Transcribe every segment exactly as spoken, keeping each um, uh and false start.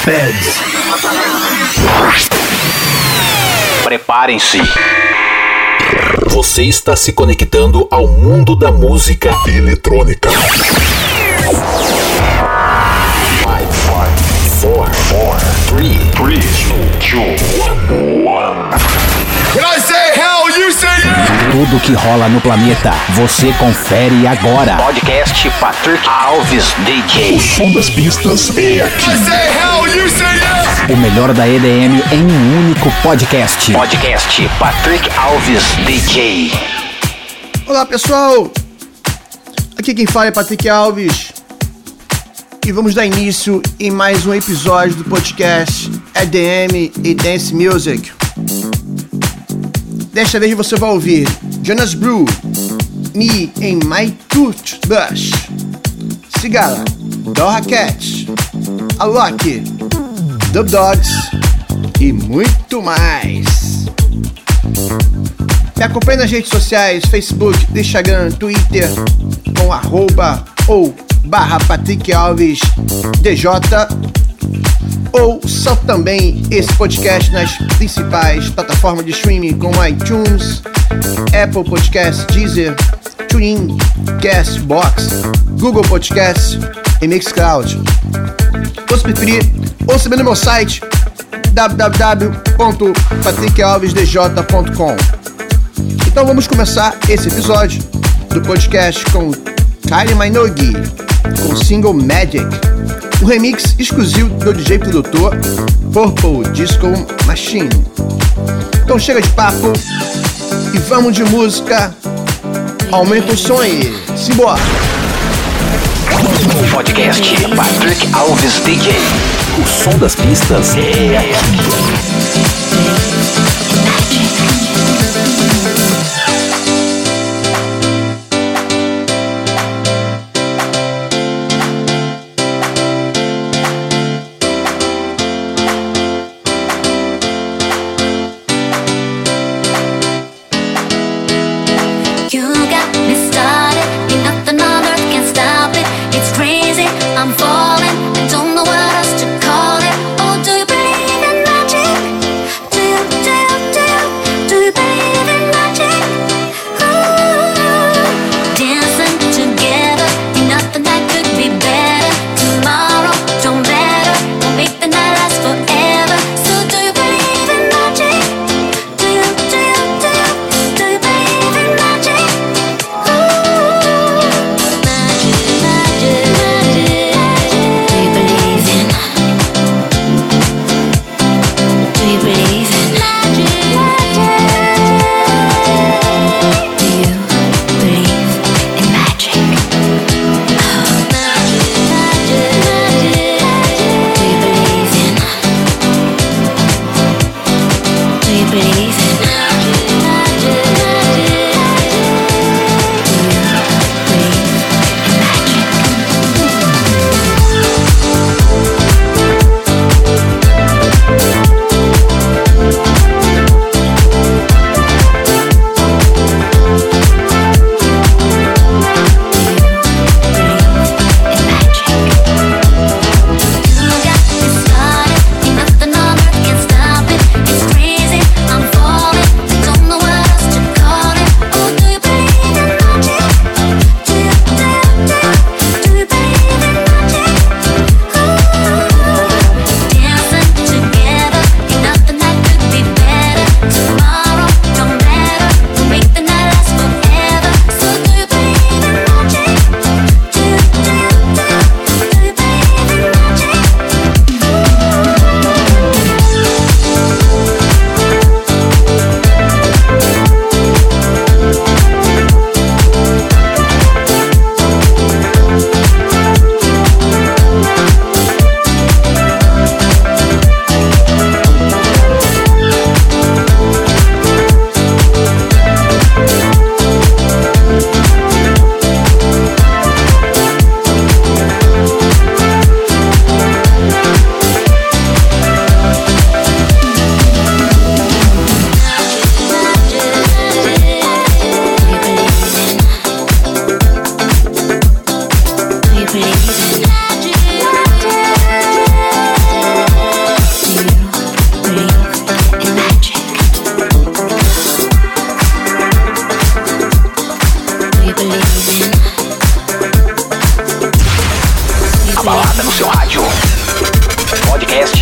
Feds. Preparem-se. Você está se conectando ao mundo da música eletrônica. três, dois, um. When I say hell, you say yeah! Tudo que rola no planeta, você confere agora. Podcast Patrick Alves D J. O som das pistas é aqui. I say hell, you say yeah! O melhor da E D M em um único podcast. Podcast Patrick Alves D J. Olá pessoal, aqui quem fala é Patrick Alves e vamos dar início em mais um episódio do podcast E D M e Dance Music. Desta vez você vai ouvir Jonas Blue, Me and My Toothbrush, Sigala, Doja Cat, Alok, Dub Dogs e muito mais. Me acompanhe nas redes sociais, Facebook, Instagram, Twitter, com arroba ou barra Patrick Alves D J, ou salve também esse podcast nas principais plataformas de streaming como iTunes, Apple Podcasts, Deezer, TuneIn, Castbox, Google Podcasts e Mixcloud. Ou se preferir, ouça no meu site w w w ponto patrick alves d j ponto com. Então vamos começar esse episódio do podcast com Kylie Minogue, com o single Magic, um remix exclusivo do D J produtor Purple Disco Machine. Então chega de papo e vamos de música. Aumenta o som aí, simbora! Podcast Patrick Alves D J. O som das pistas é aqui. I'm falling, I don't know what else to call it. Oh, do you believe in magic?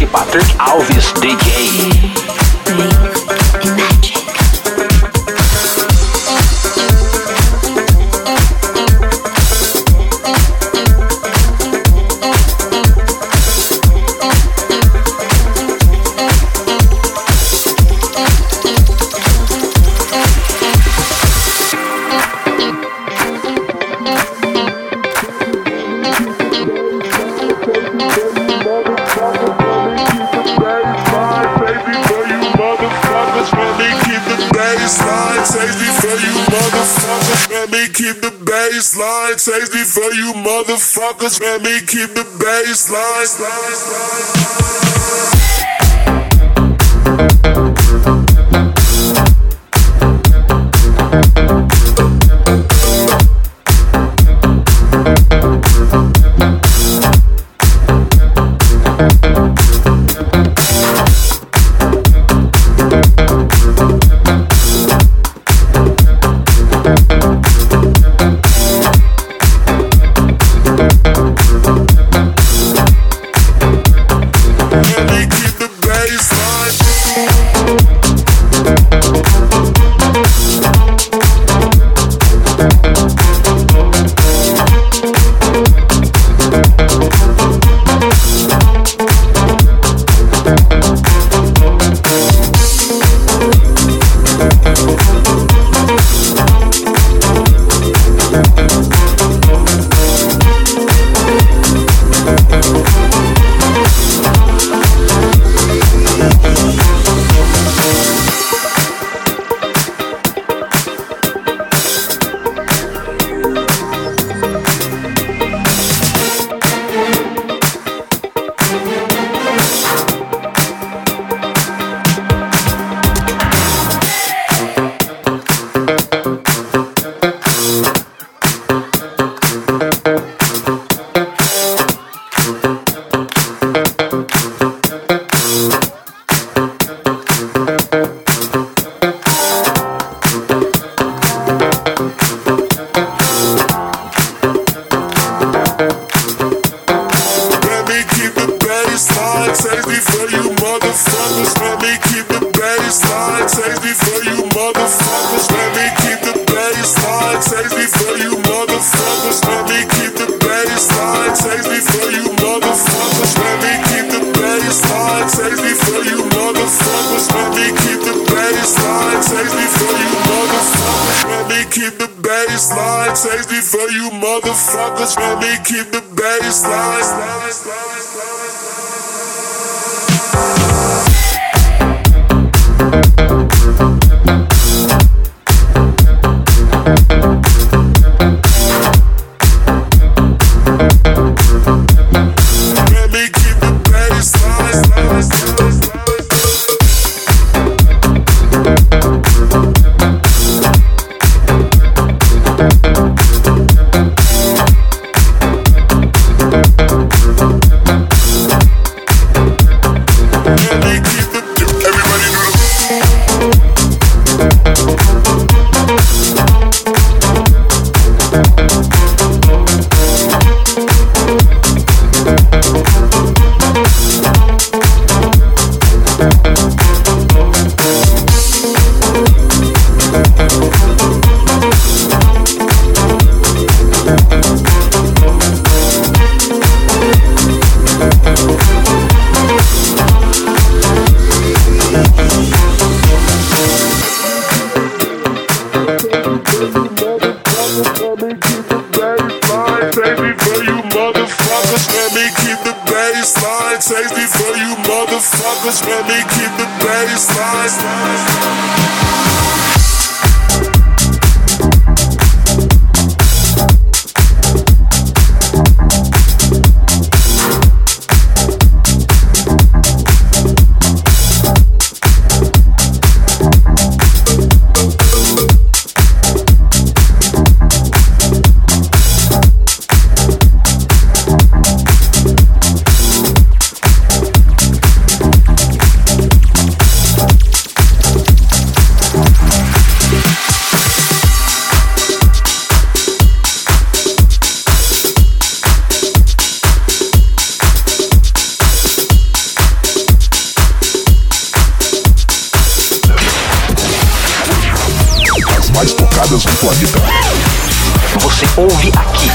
Patrick Alves D J. Baseline, safety for you motherfuckers. Let me keep the baseline. Músicas do Planeta. Você ouve aqui.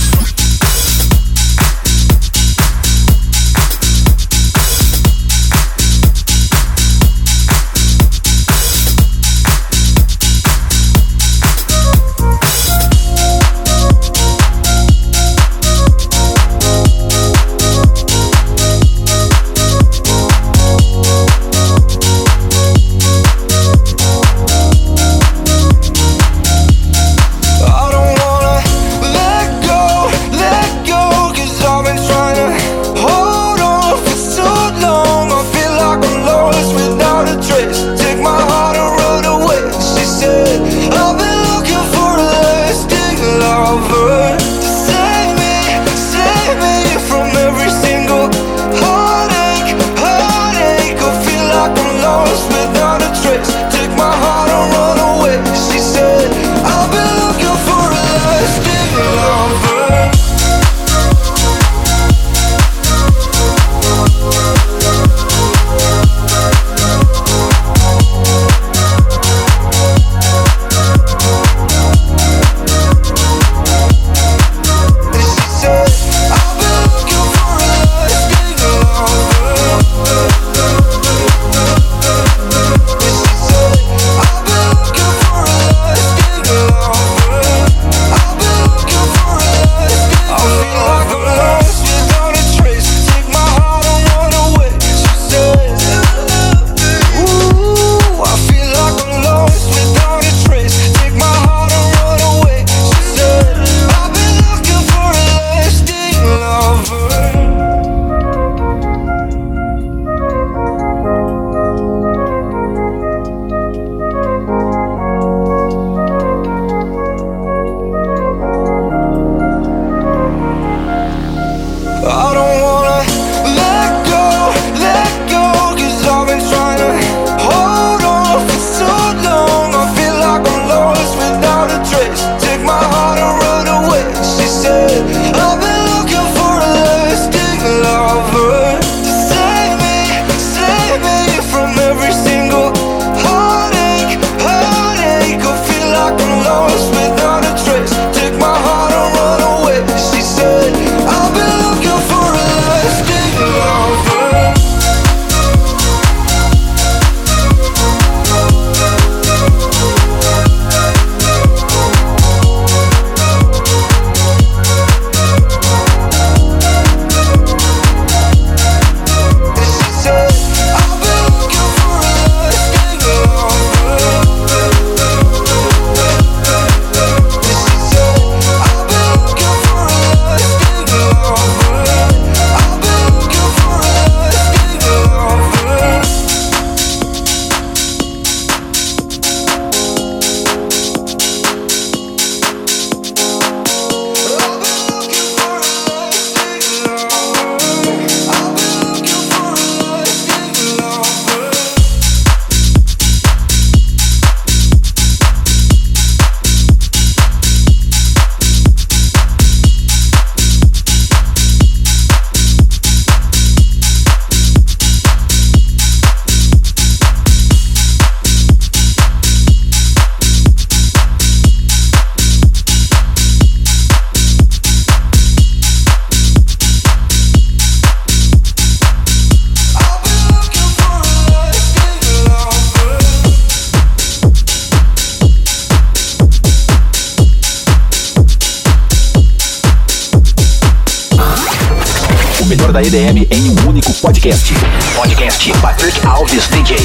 Da E D M em um único podcast. Podcast Patrick Alves D J.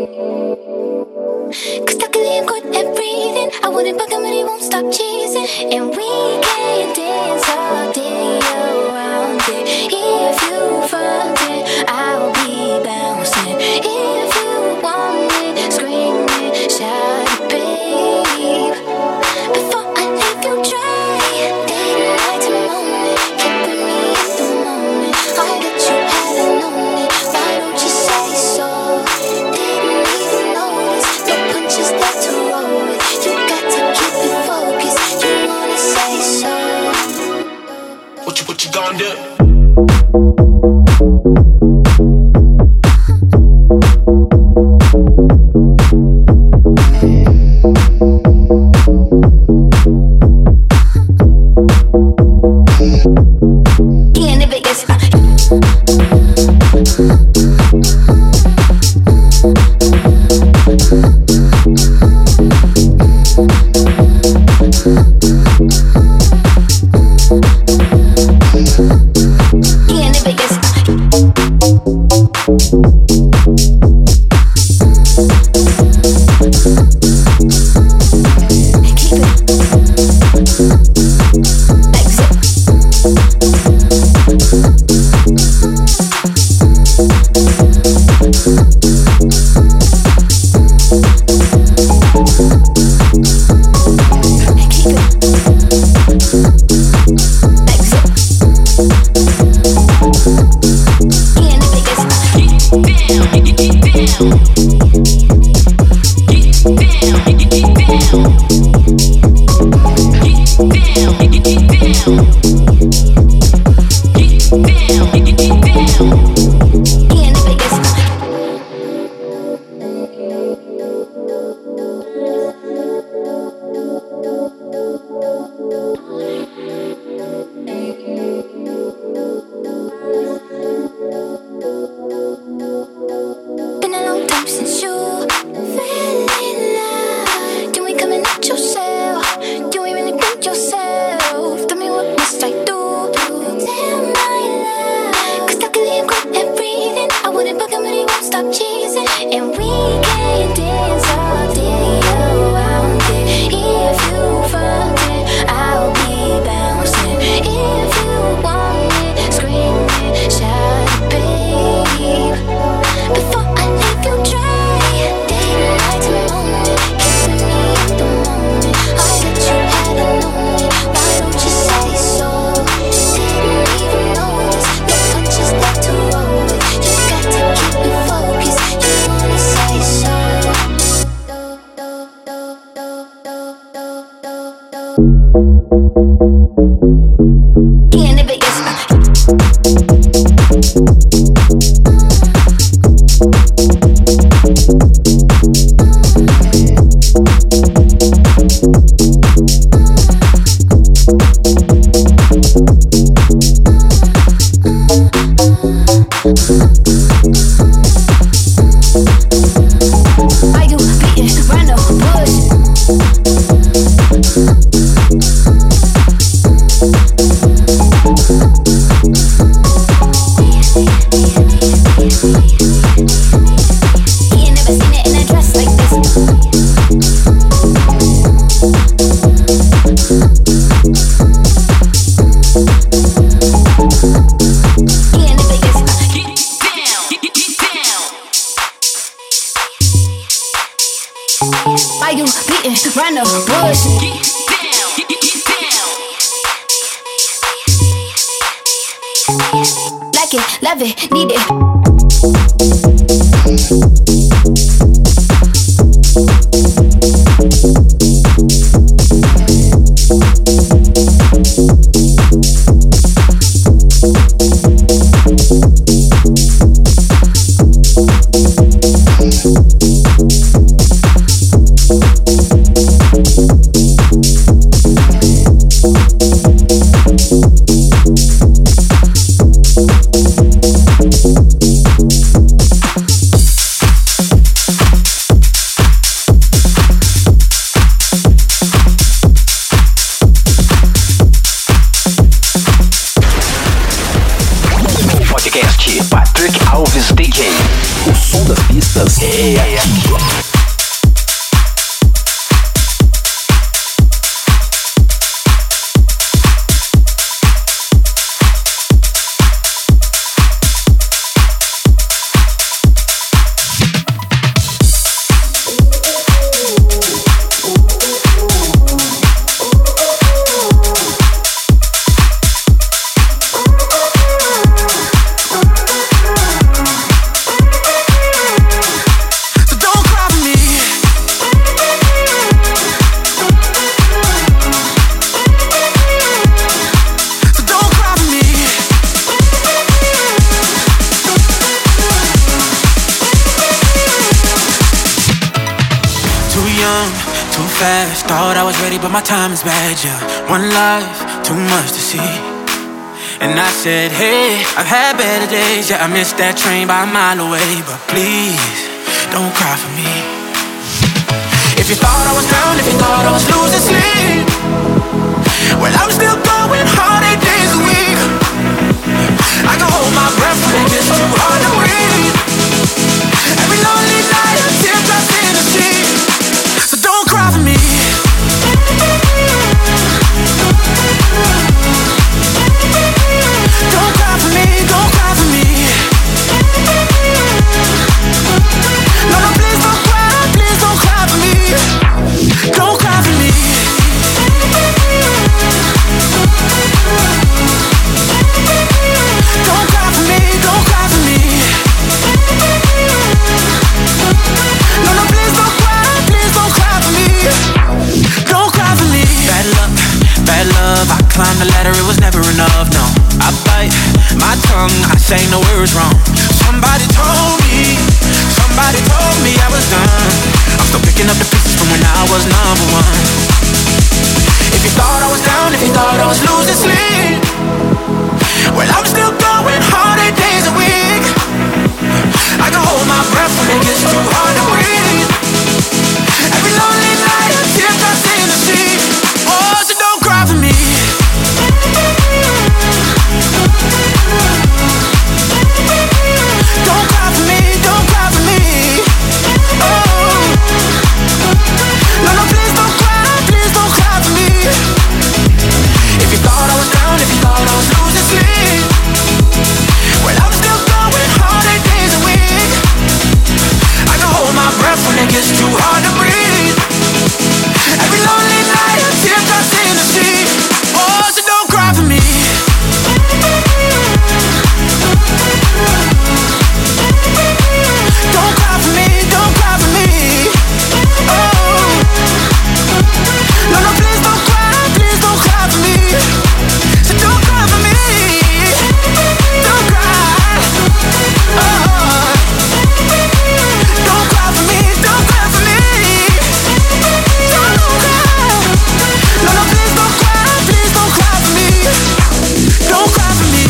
Cause luckily I'm good at breathing. I wouldn't bug him but he won't stop cheesing. And we can dance all day around it. If you front it, I'll be bouncing. If you want it, scream it, shout it, babe. Before I leave you dry, daylight to moment, keeping me in the moment. All that you hadn't known it, why don't you say so? Didn't even notice, no punches left to roll with. You got to keep it focused, you wanna say so. What you, what you gonna do? é aqui. Thought I was ready, but my time is bad, yeah. One life, too much to see. And I said, hey, I've had better days, yeah. I missed that train by a mile away, but please, don't cry for me. If you thought I was down, if you thought I was losing sleep, well, I'm still going hard eight days a week. I can hold my breath when it gets too hard to breathe. Every lonely night, a teardrop in the sea. So don't cry for me. Don't cry for me, don't cry for me. No, no, please don't cry, please don't cry for me. Don't cry for me. Don't cry for me, don't cry for me. No, no, please don't cry, please don't cry for me. Don't cry for me. Bad luck, bad love, I climbed the ladder, it was never enough, no. I bite my tongue, I say no words wrong. Somebody told me, somebody told me I was done. I'm still picking up the pieces from when I was number one. If you thought I was down, if you thought I was losing sleep, well, I'm still going hard eight days a week. I can hold my breath when it gets too hard to breathe. Every lonely night, a teardrop in the sea. Oh, so don't cry for me. Don't cry for me, don't cry for me. Oh, no, no, please don't cry, please don't cry for me. If you thought I was down, if you thought I was losing sleep, well, I'm still going hard eight days a week. I can hold my breath when it gets too hard to breathe. Every lonely night, a teardrop in the sea. Oh, so don't cry for me. Don't cry for me, don't cry for me. Oh, no, no, please don't cry, please don't cry for me. So don't cry for me, don't cry. Oh, don't cry for me, don't cry for me. Don't cry. No, no, please don't cry, please don't cry for me. Don't cry for me.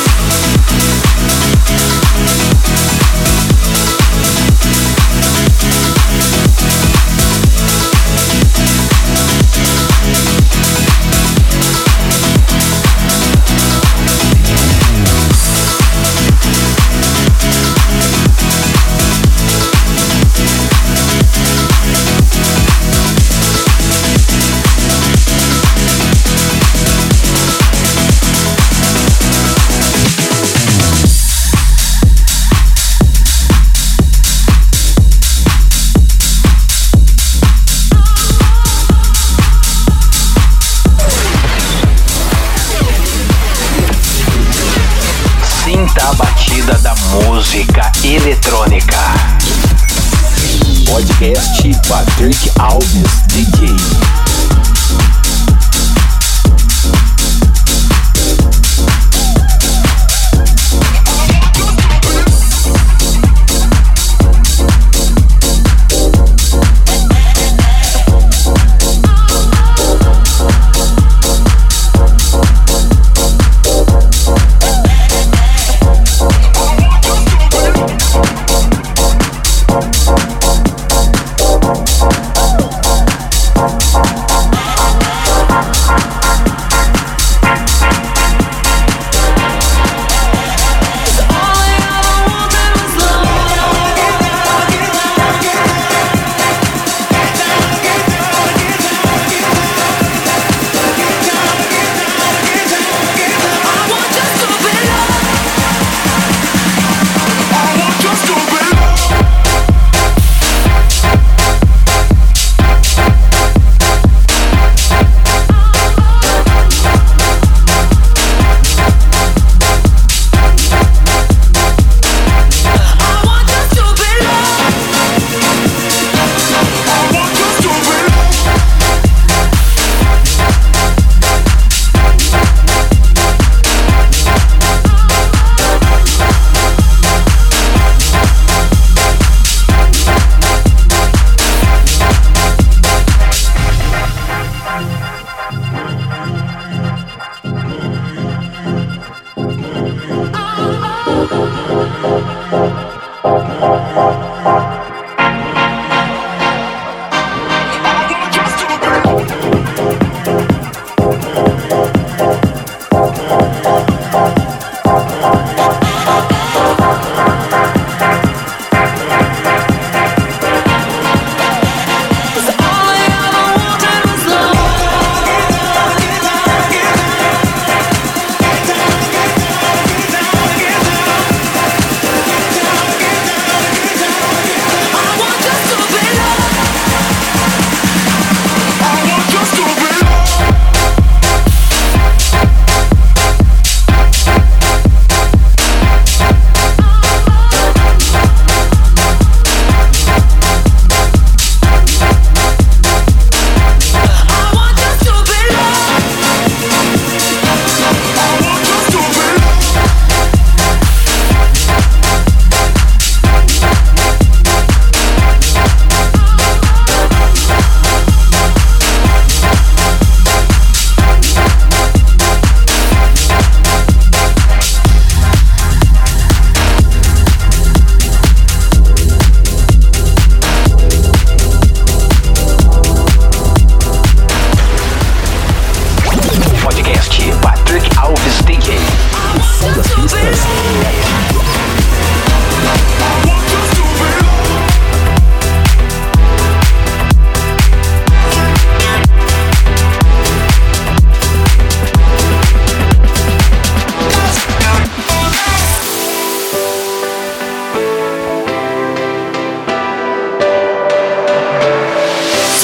Sinta a batida da música eletrônica. Podcast Patrick Alves D J.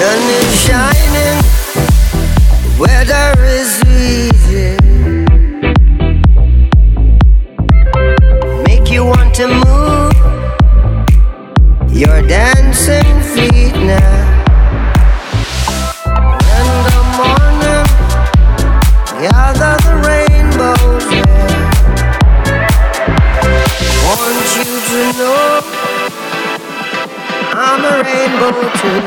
Sun is shining, weather is easy. Make you want to move your dancing feet now. In the morning, gather the rainbows, yeah. Want you to know I'm a rainbow too.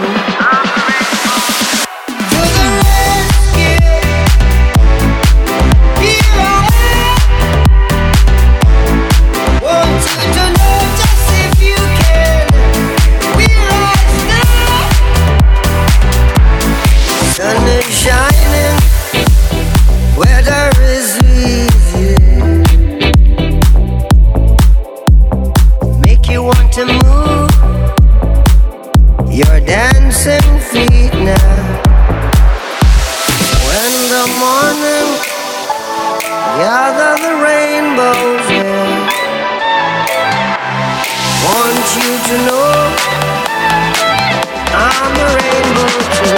Sun is shining, weather is easy. Make you want to move your dancing feet now. When the morning gather the rainbows, yeah. Want you to know I'm a rainbow too.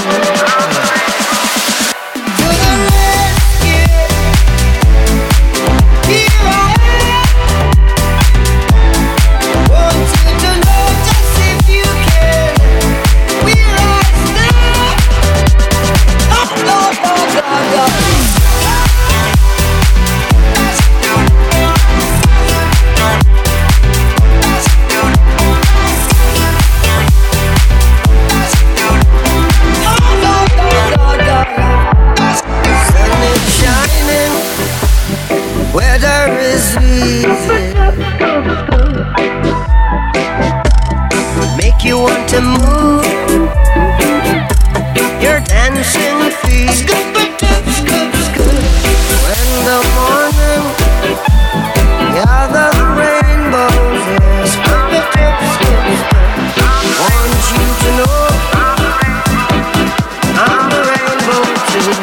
Weather is easy. Make you want to move your dancing feet. When the morning gather the rainbows, yeah. Want you to know I'm a rainbow too.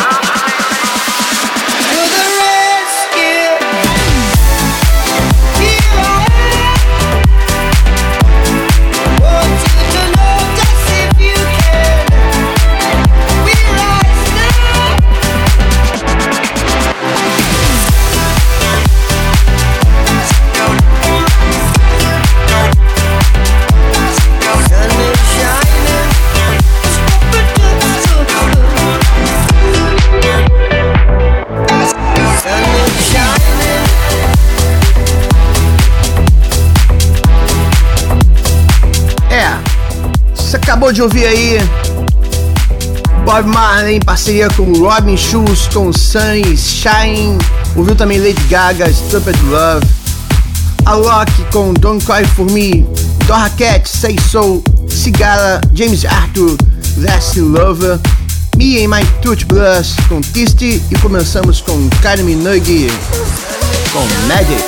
Acabou de ouvir aí Bob Marley em parceria com Robin Schulz com Sun is Shine. Ouviu também Lady Gaga, Stupid Love, Alok com Don't Cry For Me, Doja Cat, Say So, Sigala, James Arthur, Last Lover, Me and My Touch Blues com Tisty e começamos com Kylie Minogue com Magic.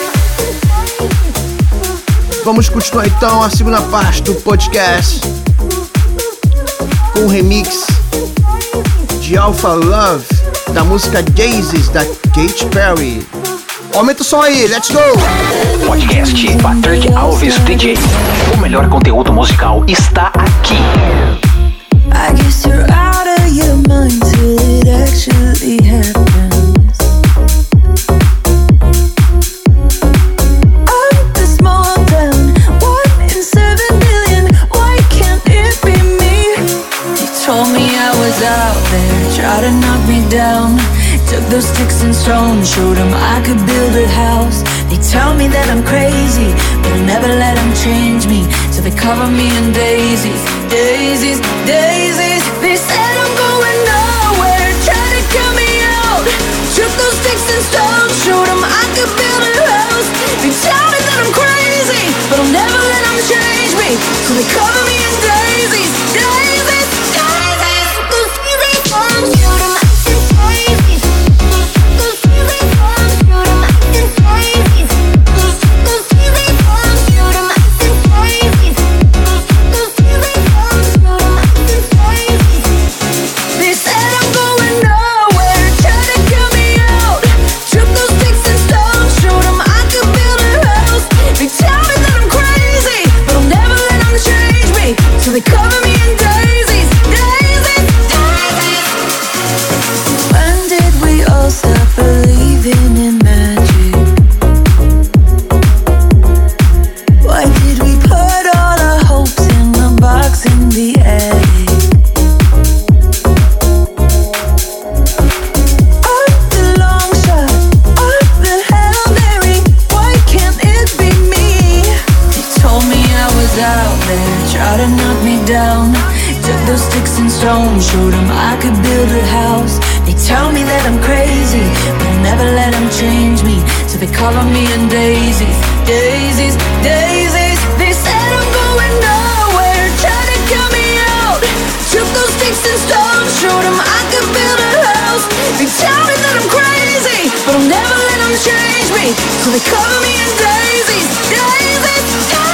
Vamos continuar então a segunda parte do podcast com um remix de Alpha Love da música Daisies da Katy Perry. Aumenta o som aí, let's go! Podcast Patrick Alves D J. O melhor conteúdo musical está aqui. I guess you're out of your mind till it actually happens. I'm the small town, one in seven billion. Why can't it be me? You told me I was out there, tried to knock me down. Took those sticks and stones, showed them I could build a house. They tell me that I'm crazy, but I'll never let them change me. So they cover me in daisies, daisies, daisies. They said I'm going nowhere, try to cut me out. Took those sticks and stones, showed them I could build a house. They tell me that I'm crazy, but I'll never let them change me. So they cover me in daisies, daisies, daisies. Those daisies, shoot them. Shoot 'em. sparks in the attic. I'm the long shot, I'm the Hail Mary. Why can't it be me? They told me I was out there, tried to knock me down. Took those sticks and stones, showed them I could build a house. They tell me that I'm crazy, but I never let them change me. So they call on me in daisies, daisies, daisies. They said I'm going nowhere, tried to cut me out. Took those sticks and stones, showed them I could build a house. They tell me that I'm crazy, but I'll never let them change me. So they cover me in daisies, daisies, daisies.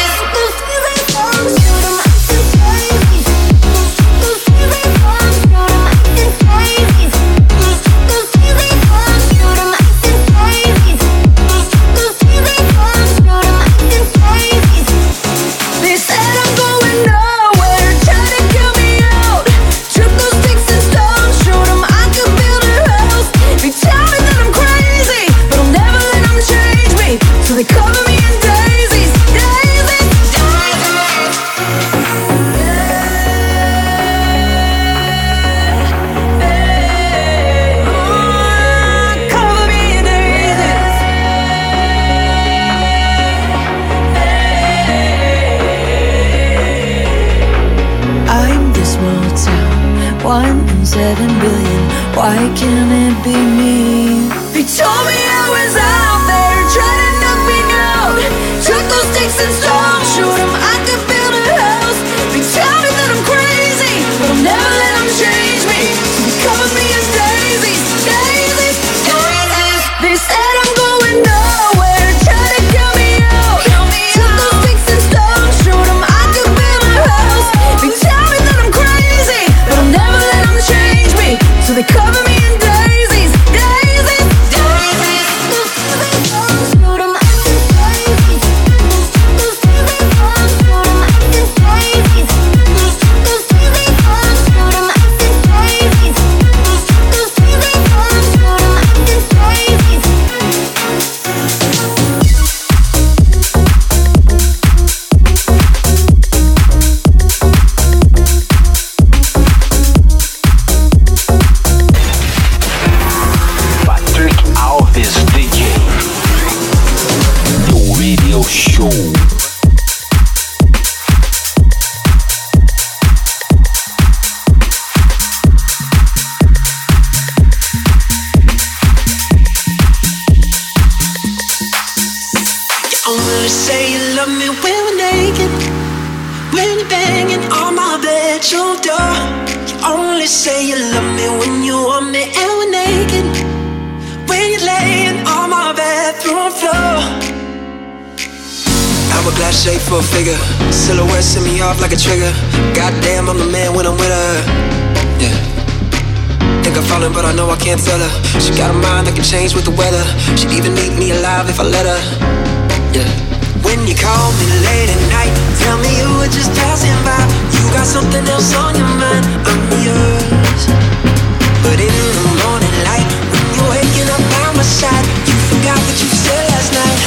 Seven billion, why can't it be me? They told me I was out there, trying to knock me out. Took those sticks and stones, showed them I could build a house. They tell me that I'm crazy, but I'll never let them change me. So they cover me in daisies, daisies, daisies. They said I'm going nowhere, trying to cut me out. Took those sticks and stones, showed them I could build a house. They tell me that I'm crazy, but I'll never let them change me. So they cover me in daisies, daisies, daisies. Shoot 'em up in daisies. Shoot 'em up in daisies. Shoot 'em up in daisies. Shape for a figure, silhouette send me off like a trigger. Goddamn, I'm the man when I'm with her. Yeah. Think I'm falling, but I know I can't tell her. She got a mind that can change with the weather. She'd even eat me alive if I let her. Yeah. When you call me late at night, tell me you were just passing by. You got something else on your mind, I'm yours. But in the morning light, when you're waking up by my side, you forgot what you said last night.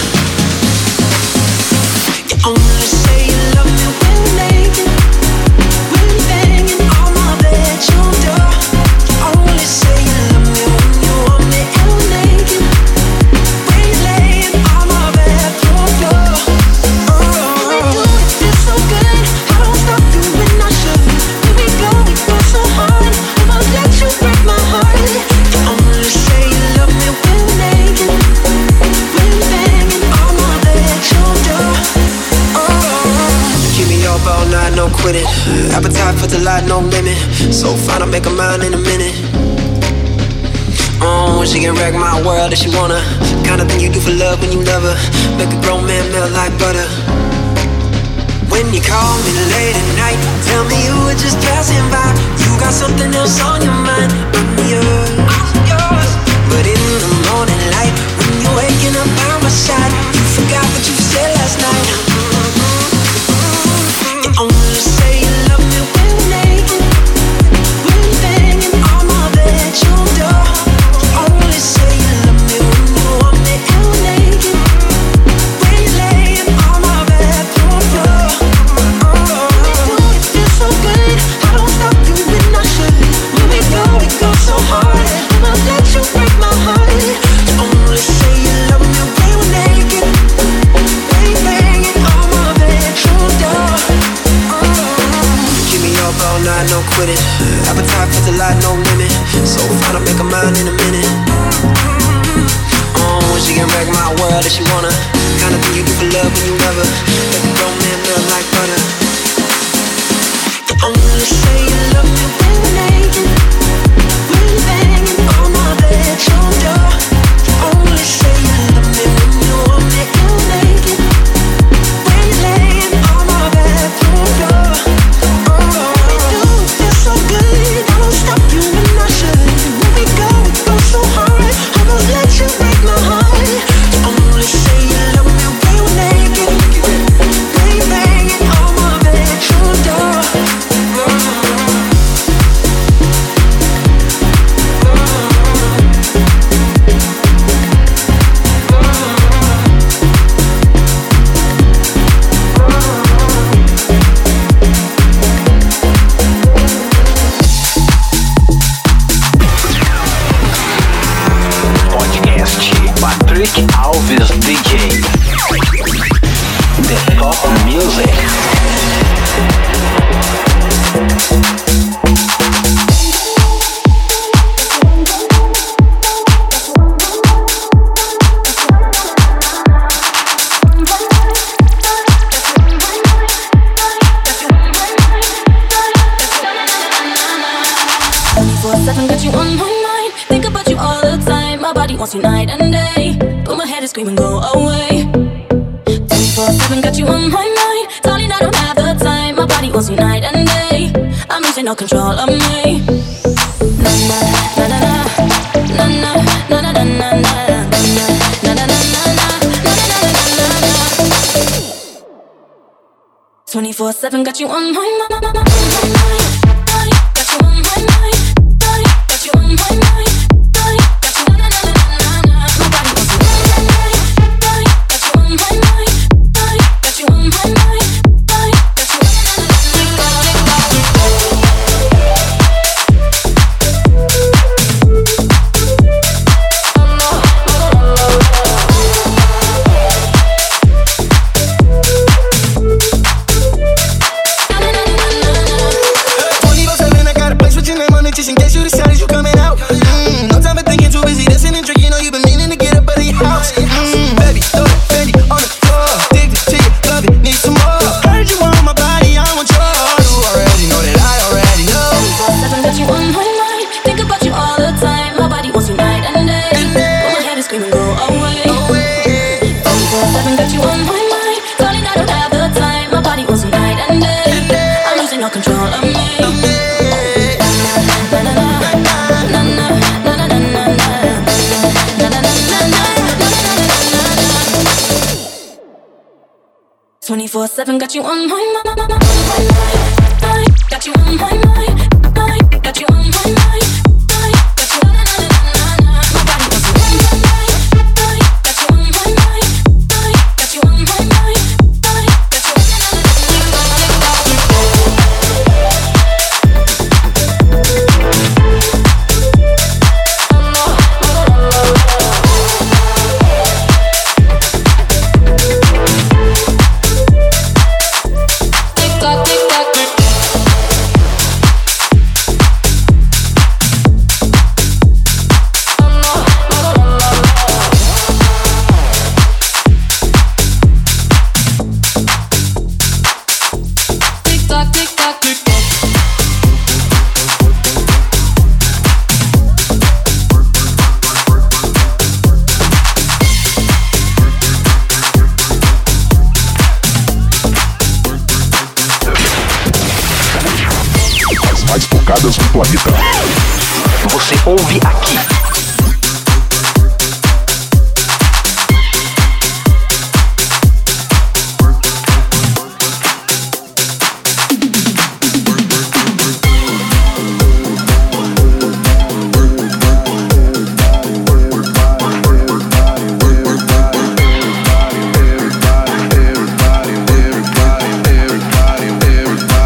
Only say you love me when you're naked, when you're banging on my bedroom door. You only say you love me when you want me and we're naked, when you're laying on my bedroom floor. Oh, we do it, feels so good. I don't stop doing I should. When we go, we go so hard. I won't let you break my heart. You only say you love me when you're naked, when you're banging on my bedroom door. Keep me up all night, no quitting. Appetite for delight, no limit. So fine, I'll make a mind in a minute. Oh, she can wreck my world if she wanna. Kind of thing you do for love when you love her. Make a grown man melt like butter. When you call me late at night, tell me you were just passing by. You got something else on your mind, I'm yours, I'm yours. But in the morning light, when you're waking up by my side, you forgot what you said last night. You only say you love me when you're naked, when you're banging on my bedroom door. You only say you love me when you want me and we're naked, when you're laying on my bedroom floor. Oh, all night, no quitting. Appetite for the light, no limit. So fine, I'll make a mind in a minute. Oh, she can wreck my world if she wanna. Kind of thing you do for love when you ever let the grown man melt like butter. You only say you love me when we're naked, when you're banging on my bedroom door. You only say you love me when you want me ill naked, when you're laying on my bedroom floor. Oh, we do feel so good, I don't stop you when I should. When we go, we go so hard, almost let you break my heart. You only say you love me when we're naked, when you're banging on my bedroom door. Patrick Alves D J. The Top Music. twenty-four seven got you on my mind. Think about you all the time. My body wants you night and day, but my head is screaming go away. twenty-four seven got you on my mind. Darling, I don't have the time. My body wants you night and day. I'm losing all control of me. Na na na na na na na na na na na na na. twenty-four seven got you on my mind. Got you on my mind. Got you on my mind. Got you na na na na na. My body wants you night and day. Got you on my mind. Got you on my mind. Got you na na na twenty-four seven, I got a place with your name on it just in case you decided you coming out. Mm, no time for thinking, too busy dancing and drinking. Know you been meaning to get up out of your house. Mm, baby, throw that Fendi on the floor. Addicted to you, love it, need some more. Heard you want my body, I want yours. You already know that I already know. twenty-four seven got you on my mind. Think about you all the time. My body wants you night and day, but my head is screaming go away. twenty-four seven got you on my mind. Darling, I don't have the time. My body wants you night and day. I'm losing all control of me. twenty-four seven got you on my mind. Got you on my mind. Got you on my mind. Got you na na na na na. My body wants you on my mind. Got you on my mind. Got you on my mind. Got you na na mais tocadas do planeta. Você ouve aqui.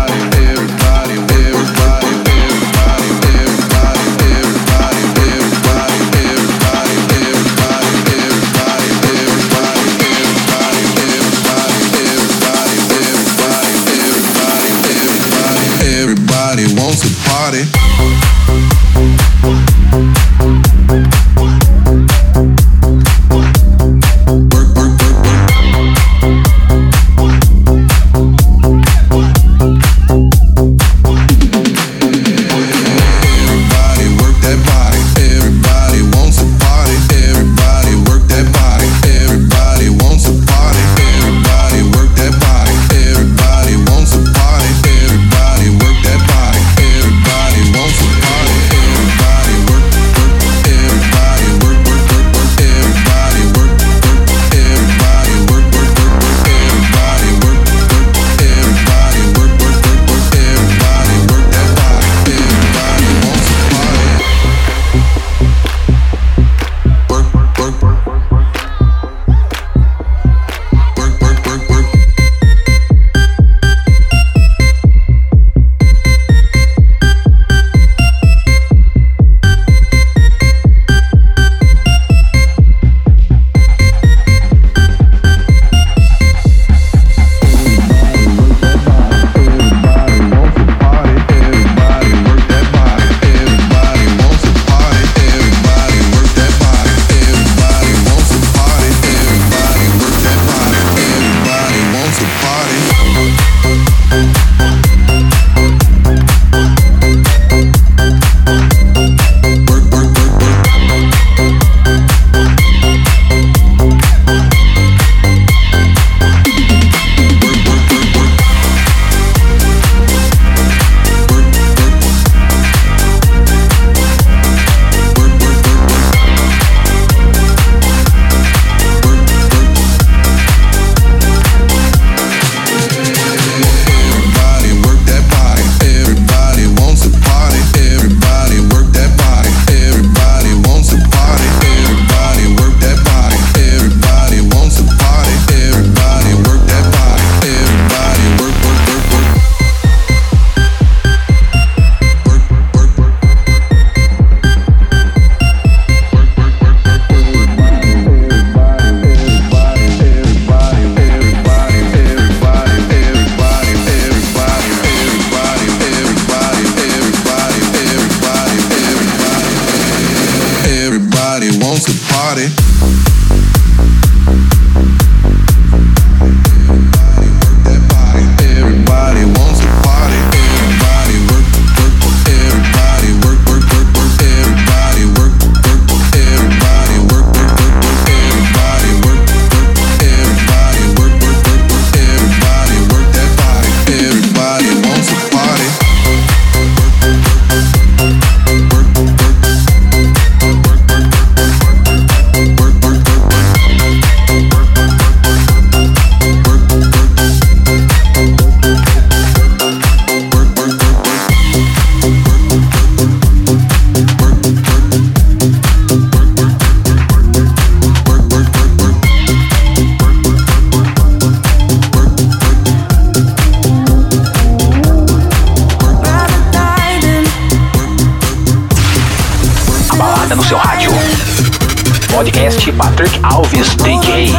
Everybody, Everybody wants to party. Podcast Patrick Alves D J.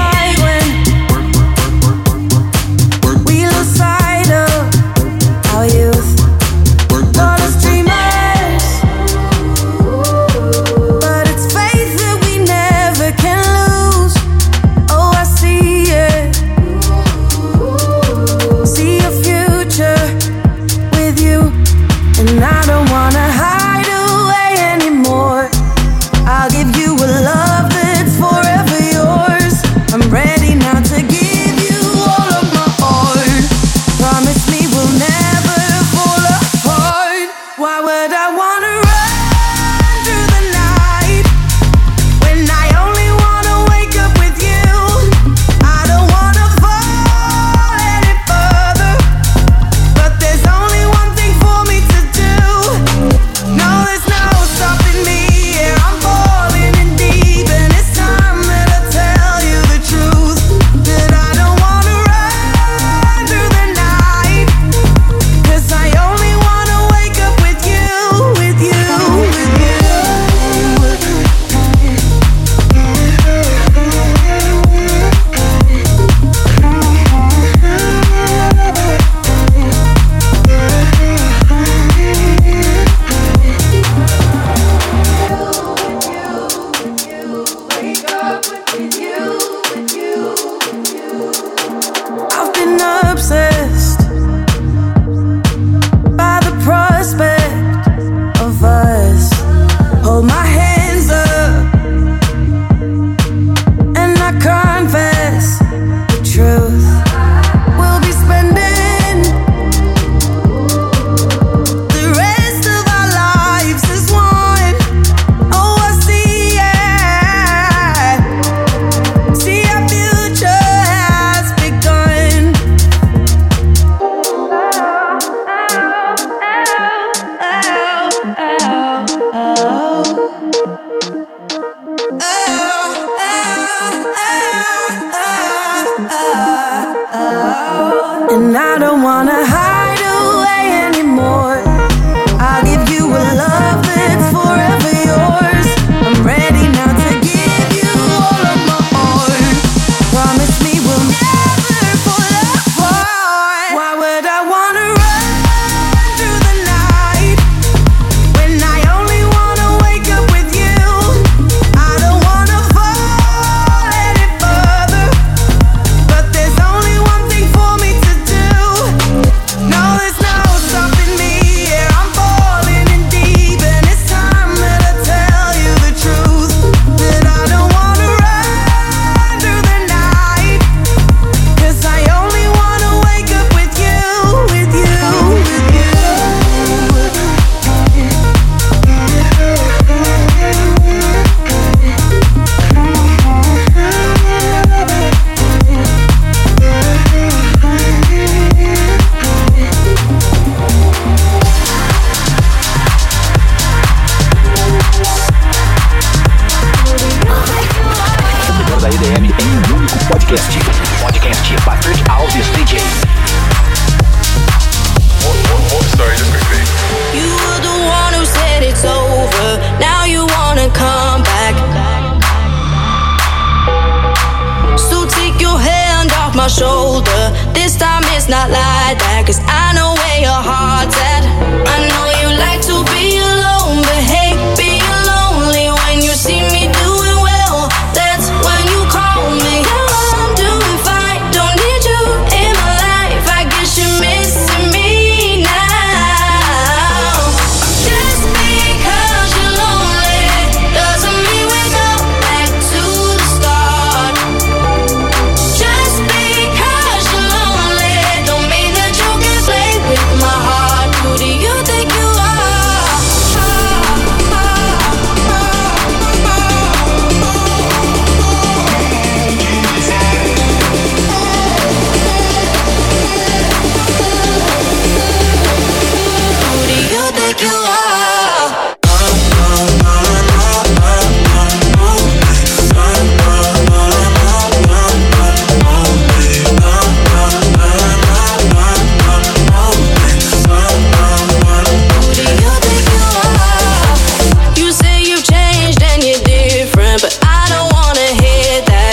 Do Podcast. Podcast Patrick Alves D J. Sorry, just quickly. You were the one who said it's over. Now you wanna come back. So take your hand off my shoulder. This time it's not like that, 'cause I know where your heart's at. I know you like to be alone, but hey, being lonely when you see me doing well, that's when you call me. Yeah, I'm doing fine, don't need you in my life. I guess you're missing me now. Just because you're lonely doesn't mean we go back to the start. Just because you're lonely don't mean that you can play with my heart. Who do you think you are? Who do you think you are? You say you've changed and you're different, but I don't wanna hear that.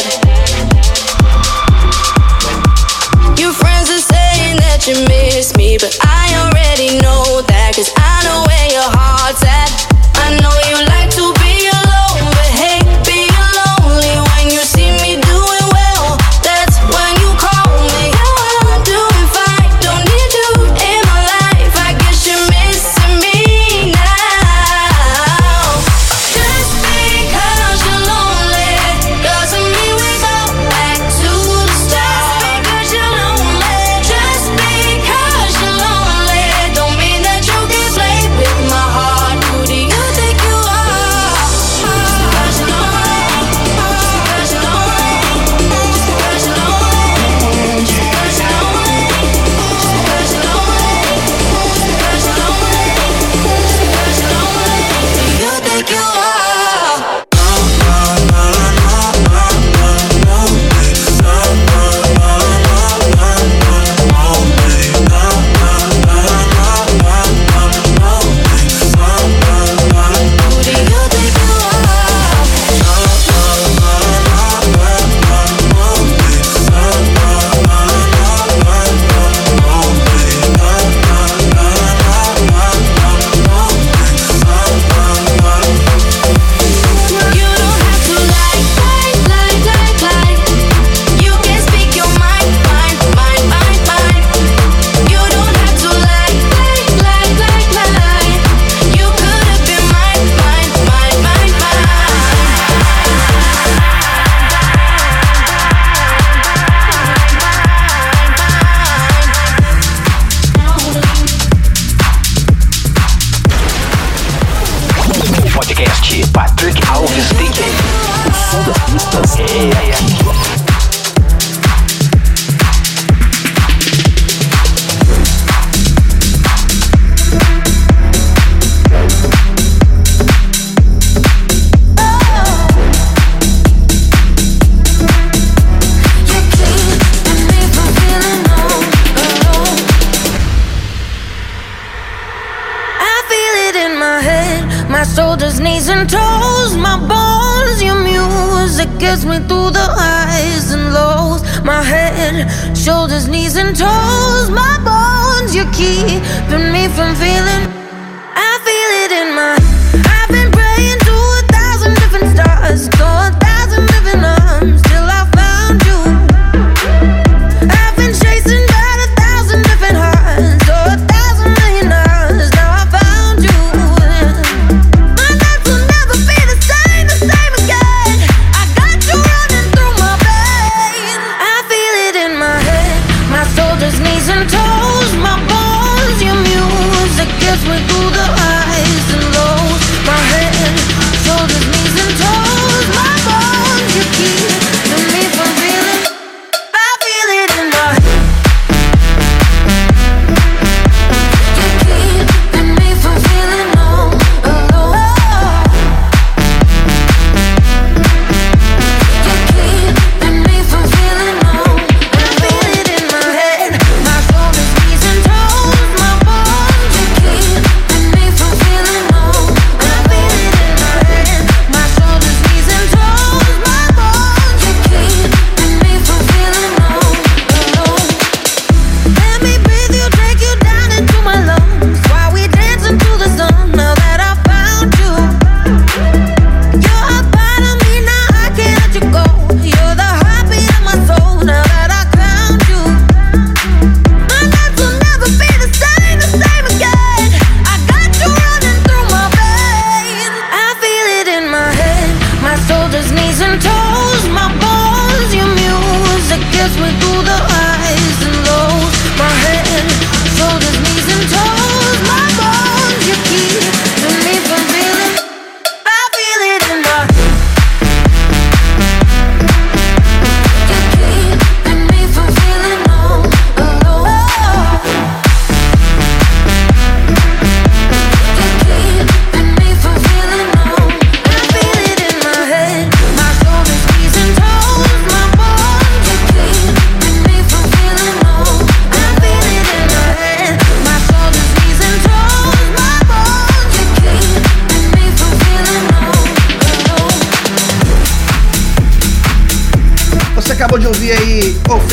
Your friends are saying that you miss me, but I already know that, 'cause I know where your heart's at. I know you like to be alone, but hey, being lonely when you see me doing well, that's when you call me. Yeah, I'm doing fine, don't need you in my life. I guess you're missing me now. Just because you're lonely doesn't mean we go back to the start. Just because you're lonely, just because you're lonely don't mean that you can play with my heart. Who do you think you are? Just because you're lonely, just because you're lonely, just because you're lonely, just because you're lonely, just because you're lonely, just because you're lonely, just because you're lonely. Who do you think you are? Who do you think you You don't have to like, like, like, like, like. You can speak your mind, mind, mind, mind, mind. You don't have to like, like, like, like, like. You could have been mine, mine, mine, mine, Podcast Patrick Alves D J. O som das pistas é aqui. I feel it in my head, my shoulders, knees and toes, my bones. Your music gets me through the highs and lows. My head, shoulders, knees and toes, my bones. You're keeping me from feeling. I feel it in my. I've been praying to a thousand different stars, to a thousand different arms, till I found you. I've been chasing down a thousand different hearts, to a thousand million hours. Now I found you. My life will never be the same, the same again. I got you running through my veins. I feel it in my head, my shoulders, knees and toes, my bones. Your music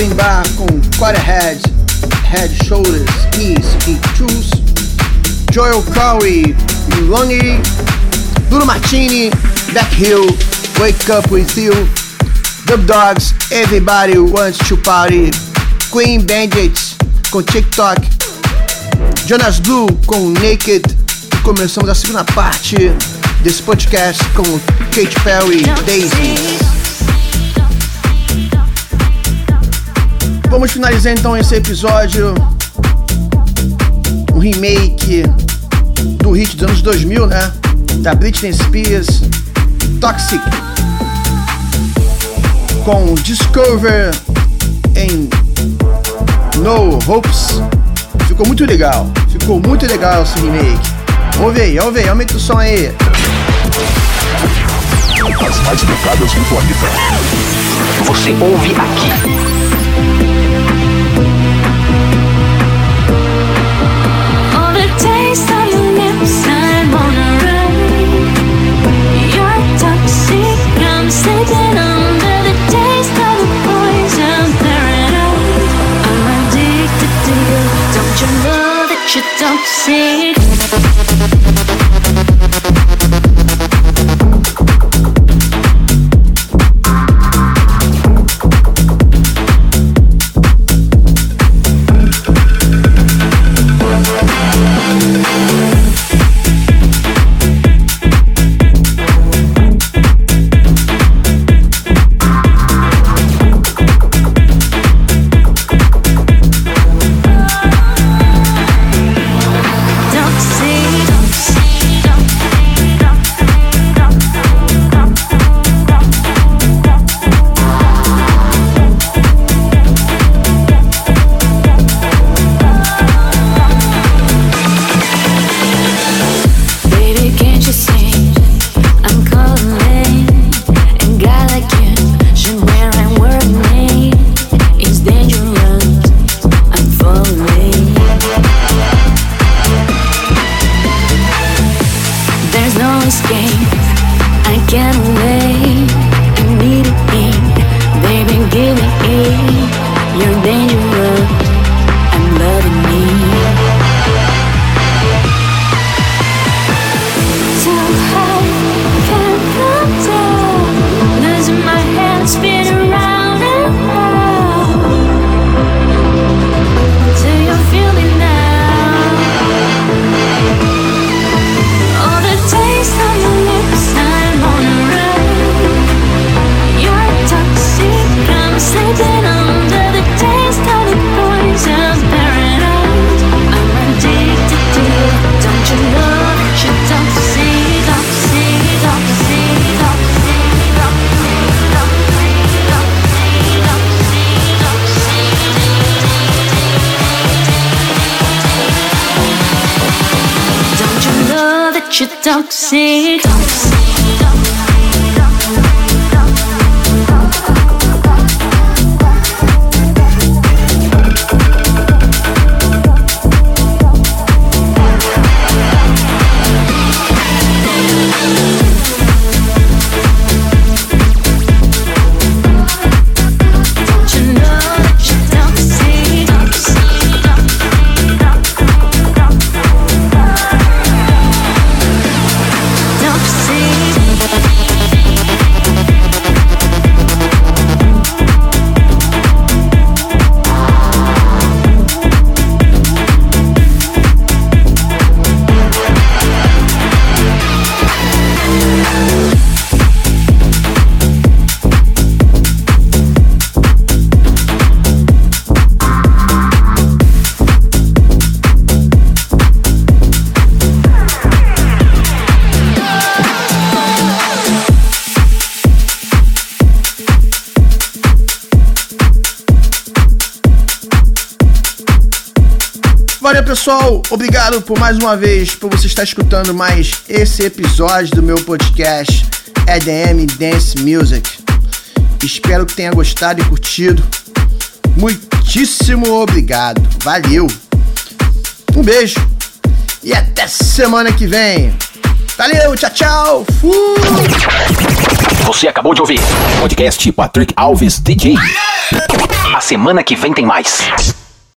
Open Bar com Quarterhead, Head, Shoulders, Knees e Toes, Joel Corey e Longy, Bruno Martini, Back Hill, Wake Up With You, Dub Dogs, Everybody Wants to Party, Queen Bandits com TikTok, Jonas Blue com Naked, e começamos a segunda parte desse podcast com Katy Perry e Daisy. Vamos finalizar então esse episódio, um remake do hit dos anos dois mil, né? Da Britney Spears, Toxic, com Discover em No Hopes. Ficou muito legal, ficou muito legal esse remake. Ouve aí, ouve aí, aumenta o som aí. As mais tocadas do planeta. Você ouve aqui. All the taste on your lips, I'm on a run. You're toxic, I'm sleeping under the taste of the poison paradise. I'm addicted to you, don't you know that you're toxic? You're toxic, toxic. Valeu, pessoal, obrigado por mais uma vez por você estar escutando mais esse episódio do meu podcast E D M Dance Music. Espero que tenha gostado e curtido. Muitíssimo obrigado, valeu, um beijo e até semana que vem. Valeu, tchau, tchau, fui! Você acabou de ouvir podcast Patrick Alves D J. A semana que vem tem mais.